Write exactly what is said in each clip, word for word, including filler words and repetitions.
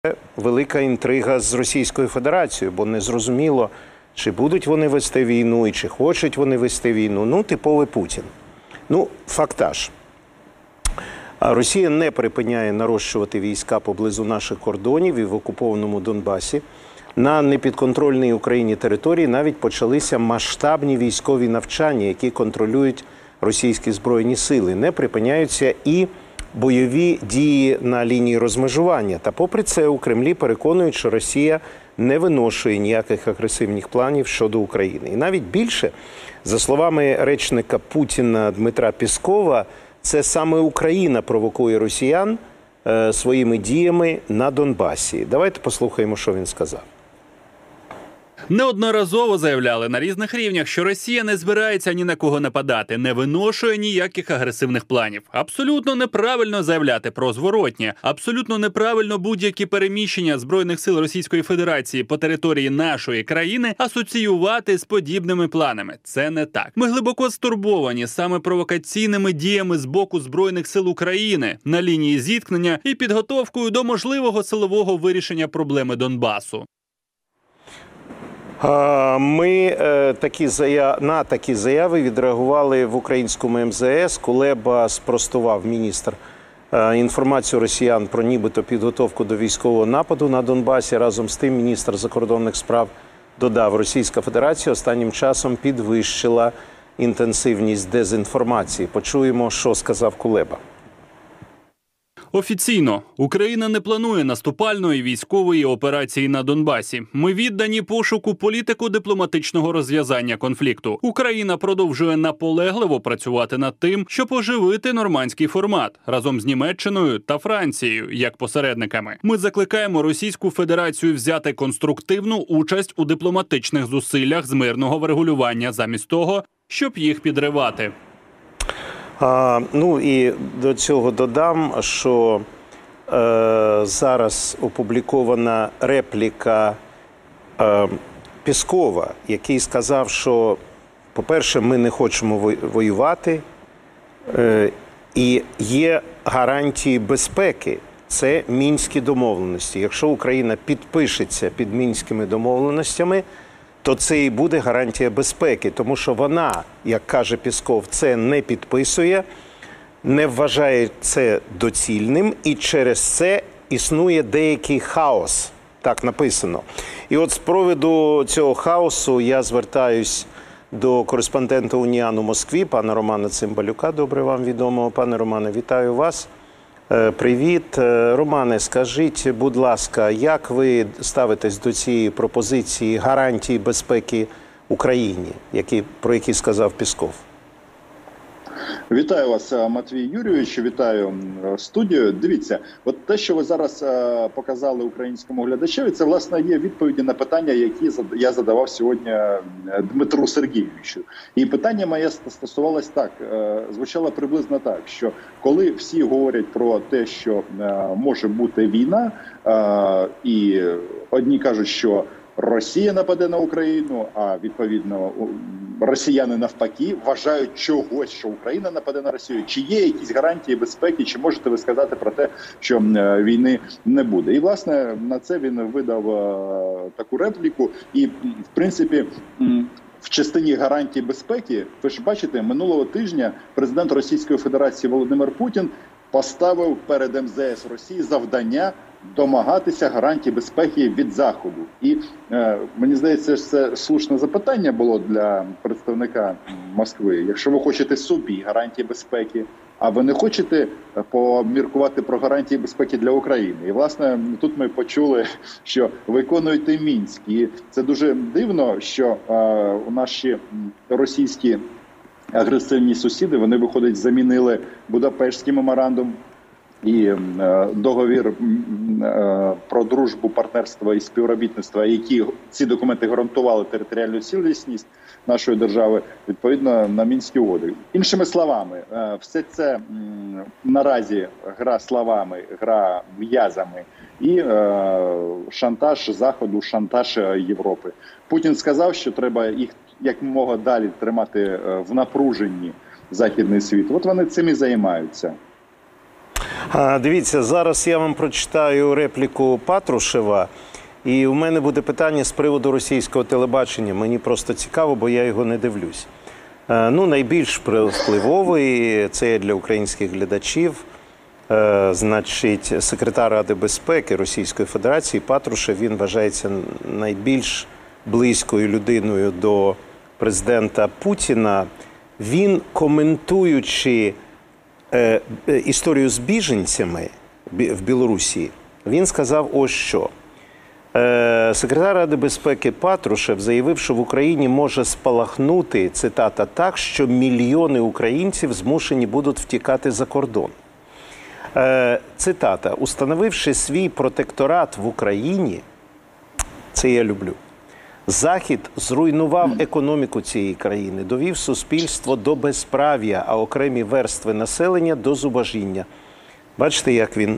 велика інтрига з Російською Федерацією, бо не зрозуміло, чи будуть вони вести війну, і чи хочуть вони вести війну. Ну, типовий Путін. Ну, фактаж. Росія не припиняє нарощувати війська поблизу наших кордонів і в окупованому Донбасі. На непідконтрольній Україні території навіть почалися масштабні військові навчання, які контролюють російські збройні сили. Не припиняються і бойові дії на лінії розмежування. Та попри це у Кремлі переконують, що Росія не виношує ніяких агресивних планів щодо України. І навіть більше, за словами речника Путіна Дмитра Пєскова, це саме Україна провокує росіян е, своїми діями на Донбасі. Давайте послухаємо, що він сказав. Неодноразово заявляли на різних рівнях, що Росія не збирається ні на кого нападати, не виношує ніяких агресивних планів. Абсолютно неправильно заявляти про зворотнє. Абсолютно неправильно будь-які переміщення Збройних сил Російської Федерації по території нашої країни асоціювати з подібними планами. Це не так. Ми глибоко стурбовані саме провокаційними діями з боку Збройних сил України на лінії зіткнення і підготовкою до можливого силового вирішення проблеми Донбасу. Ми такі заяви, на такі заяви відреагували в українському ем зе ес. Кулеба спростував, міністр, інформацію росіян про нібито підготовку до військового нападу на Донбасі. Разом з тим міністр закордонних справ додав, Російська Федерація останнім часом підвищила інтенсивність дезінформації. Почуємо, що сказав Кулеба. Офіційно, Україна не планує наступальної військової операції на Донбасі. Ми віддані пошуку політико-дипломатичного розв'язання конфлікту. Україна продовжує наполегливо працювати над тим, щоб оживити нормандський формат разом з Німеччиною та Францією як посередниками. Ми закликаємо Російську Федерацію взяти конструктивну участь у дипломатичних зусиллях з мирного врегулювання замість того, щоб їх підривати. А, ну і до цього додам, що е, зараз опублікована репліка е, Пєскова, який сказав, що, по-перше, ми не хочемо воювати, е, і є гарантії безпеки. Це Мінські домовленості. Якщо Україна підпишеться під Мінськими домовленостями, то це і буде гарантія безпеки, тому що вона, як каже Пєсков, це не підписує, не вважає це доцільним, і через це існує деякий хаос, так написано. І от з приводу цього хаосу я звертаюсь до кореспондента Уніан у Москві, пана Романа Цимбалюка, добре вам відомого. Пане Романе, вітаю вас. Привіт. Романе, скажіть, будь ласка, як ви ставитесь до цієї пропозиції гарантії безпеки Україні, які, про які сказав Пєсков? Вітаю вас, Матвій Юрійович, вітаю студію. Дивіться, от те, що ви зараз показали українському глядачеві, це, власне, є відповіді на питання, які я задавав сьогодні Дмитру Сергійовичу. І питання моє стосувалось так, звучало приблизно так, що коли всі говорять про те, що може бути війна, і одні кажуть, що Росія нападе на Україну, а відповідно росіяни навпаки вважають чогось, що Україна нападе на Росію. Чи є якісь гарантії безпеки, чи можете ви сказати про те, що війни не буде? І, власне, на це він видав таку репліку. І, в принципі, в частині гарантій безпеки, ви ж бачите, минулого тижня президент Російської Федерації Володимир Путін поставив перед ем зе ес Росії завдання домагатися гарантій безпеки від Заходу. І е, мені здається, це слушне запитання було для представника Москви. Якщо ви хочете собі гарантії безпеки, а ви не хочете поміркувати про гарантії безпеки для України. І, власне, тут ми почули, що виконуєте Мінськ. І це дуже дивно, що е, у наші російські агресивні сусіди, вони, виходить, замінили Будапештський меморандум і е, договір е, про дружбу, партнерство і співробітництво, які ці документи гарантували територіальну цілісність нашої держави, відповідно на Мінські угоди. Іншими словами, е, все це м, наразі гра словами, гра в'язами і е, шантаж Заходу, шантаж Європи. Путін сказав, що треба їх якомога далі тримати в напруженні західний світ. От вони цим і займаються. А, дивіться, зараз я вам прочитаю репліку Патрушева. І у мене буде питання з приводу російського телебачення. Мені просто цікаво, бо я його не дивлюсь. Ну, найбільш впливовий, це для українських глядачів, значить, секретар Ради безпеки Російської Федерації Патрушев, він вважається найбільш близькою людиною до президента Путіна. Він, коментуючи е, історію з біженцями в Білорусі, він сказав ось що. Секретар Ради безпеки Патрушев заявив, що в Україні може спалахнути, цитата, так, що мільйони українців змушені будуть втікати за кордон. Цитата. Установивши свій протекторат в Україні, це я люблю, Захід зруйнував економіку цієї країни, довів суспільство до безправ'я, а окремі верстви населення до зубожіння. Бачите, як він,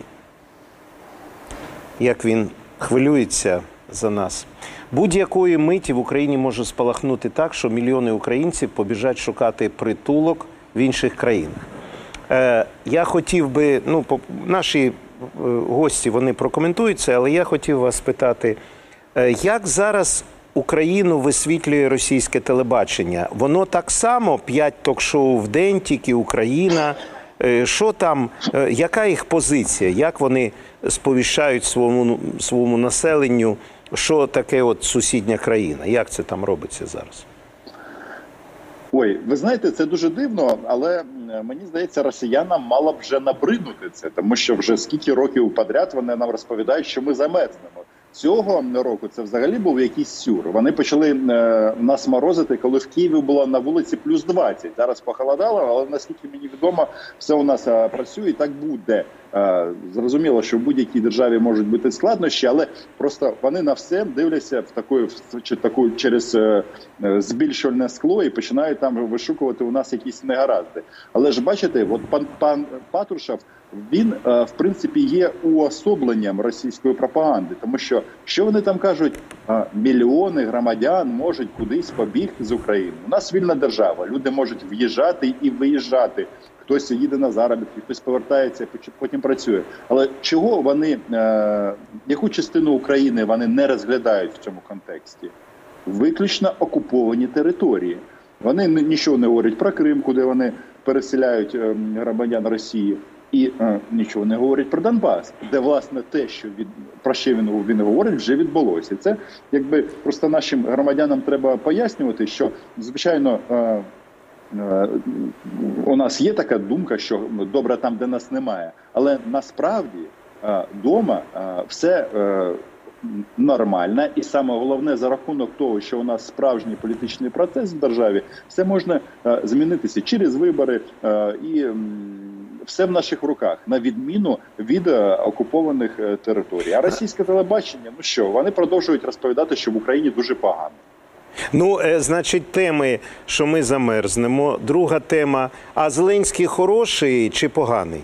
як він хвилюється за нас. Будь-якої миті в Україні може спалахнути так, що мільйони українців побіжать шукати притулок в інших країнах. Е, я хотів би, ну, наші гості, вони прокоментують це, але я хотів вас спитати, е, як зараз Україну висвітлює російське телебачення? Воно так само, п'ять ток-шоу в день, тільки Україна. Що там, яка їх позиція? Як вони сповіщають своєму, своєму населенню, що таке от сусідня країна? Як це там робиться зараз? Ой, ви знаєте, це дуже дивно, але мені здається, росіянам мало б вже набриднути це, тому що вже скільки років підряд вони нам розповідають, що ми замерзнемо. Цього року це взагалі був якийсь сюр. Вони почали е, нас морозити, коли в Києві було на вулиці плюс двадцять. Зараз похолодало, але наскільки мені відомо, все у нас е, працює і так буде. Е, зрозуміло, що в будь-якій державі можуть бути складнощі, але просто вони на все дивляться в таку, в таку через е, збільшувальне скло і починають там вишукувати у нас якісь негаразди. Але ж бачите, от пан, пан Патрушев, він, в принципі, є уособленням російської пропаганди, тому що, що вони там кажуть, мільйони громадян можуть кудись побігти з України. У нас вільна держава, люди можуть в'їжджати і виїжджати. Хтось їде на заробітки, хтось повертається, потім працює. Але чого вони, яку частину України вони не розглядають в цьому контексті? Виключно окуповані території. Вони нічого не говорять про Крим, куди вони переселяють громадян Росії. І е, нічого не говорять про Донбас, де, власне, те, що від, про що він, він говорить, вже відбулося. Це, якби, просто нашим громадянам треба пояснювати, що, звичайно, е, е, у нас є така думка, що добре там, де нас немає. Але насправді е, вдома е, все е, нормально. І саме головне, за рахунок того, що у нас справжній політичний процес в державі, все можна е, змінитися через вибори е, і... Все в наших руках, на відміну від окупованих територій. А російське телебачення, ну що, вони продовжують розповідати, що в Україні дуже погано. Ну, значить, теми, що ми замерзнемо. Друга тема, а Зеленський хороший чи поганий?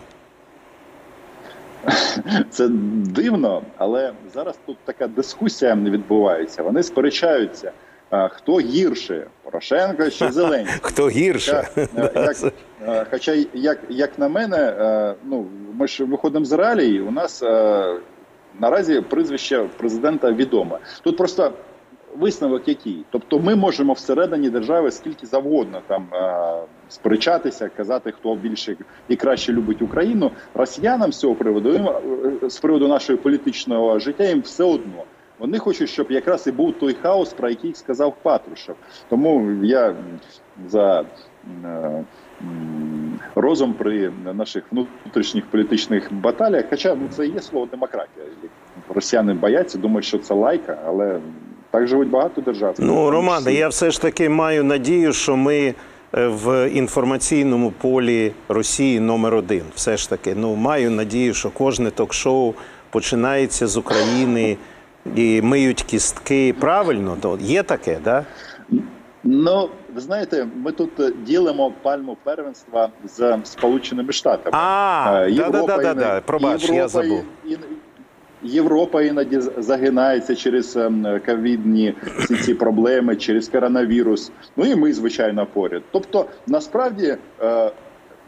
Це дивно, але зараз тут така дискусія відбувається. Вони сперечаються, хто гірше, Порошенко чи Зеленський. Хто гірше? Як, як, хоча, як, як на мене, ну, ми ж виходимо з реалій, у нас наразі прізвище президента відоме. Тут просто висновок який. Тобто ми можемо всередині держави скільки завгодно там сперечатися, казати, хто більше і краще любить Україну. Росіянам з цього приводу, з приводу нашого політичного життя, їм все одно. Вони хочуть, щоб якраз і був той хаос, про який сказав Патрушев. Тому я за е, розум при наших внутрішніх політичних баталіях, хоча ну, це і є слово демократія. Росіяни бояться, думають, що це лайка, але так живуть багато держав. Ну, Романе, я все ж таки маю надію, що ми в інформаційному полі Росії номер один. Все ж таки, ну, маю надію, що кожне ток-шоу починається з України, і миють кістки. Правильно? Є таке, так? Да? Ну, ви знаєте, ми тут ділимо пальму первенства з Сполученими Штатами. А, да-да-да, пробач, я забув. Європа іноді загинається через ковідні всі ці проблеми, через коронавірус. Ну і ми, звичайно, поряд. Тобто, насправді, от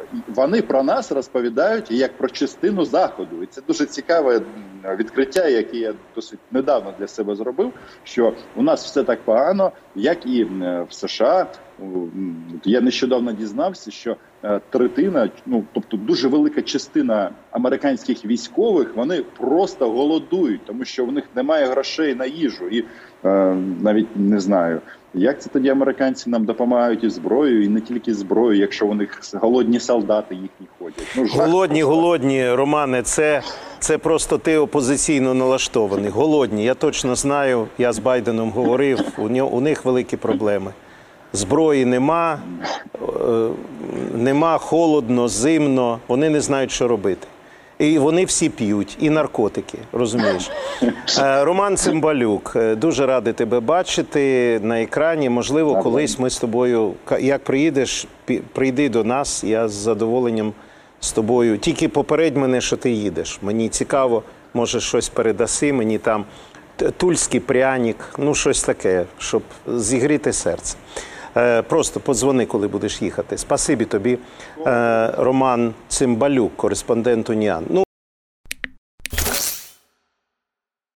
вони про нас розповідають як про частину Заходу. І це дуже цікаве відкриття, яке я досить недавно для себе зробив, що у нас все так погано, як і в США. Я нещодавно дізнався, що третина, ну тобто дуже велика частина американських військових, вони просто голодують, тому що в них немає грошей на їжу. І е, навіть не знаю, як це тоді американці нам допомагають і зброєю, і не тільки зброєю, якщо у них голодні солдати їхні ходять. Ну, голодні, просто... голодні, Романе, це, це просто ти опозиційно налаштований. Голодні, я точно знаю, я з Байденом говорив, у, нього, у них великі проблеми. Зброї нема, нема, холодно, зимно, вони не знають, що робити. І вони всі п'ють, і наркотики, розумієш. Роман Цимбалюк, дуже радий тебе бачити на екрані. Можливо, колись ми з тобою, як приїдеш, прийди до нас, я з задоволенням з тобою. Тільки попередь мене, що ти їдеш. Мені цікаво, може щось передаси, мені там тульський пряник, ну щось таке, щоб зігріти серце. Просто подзвони, коли будеш їхати. Спасибі тобі, Роман Цимбалюк, кореспондент УНІАН. Ну,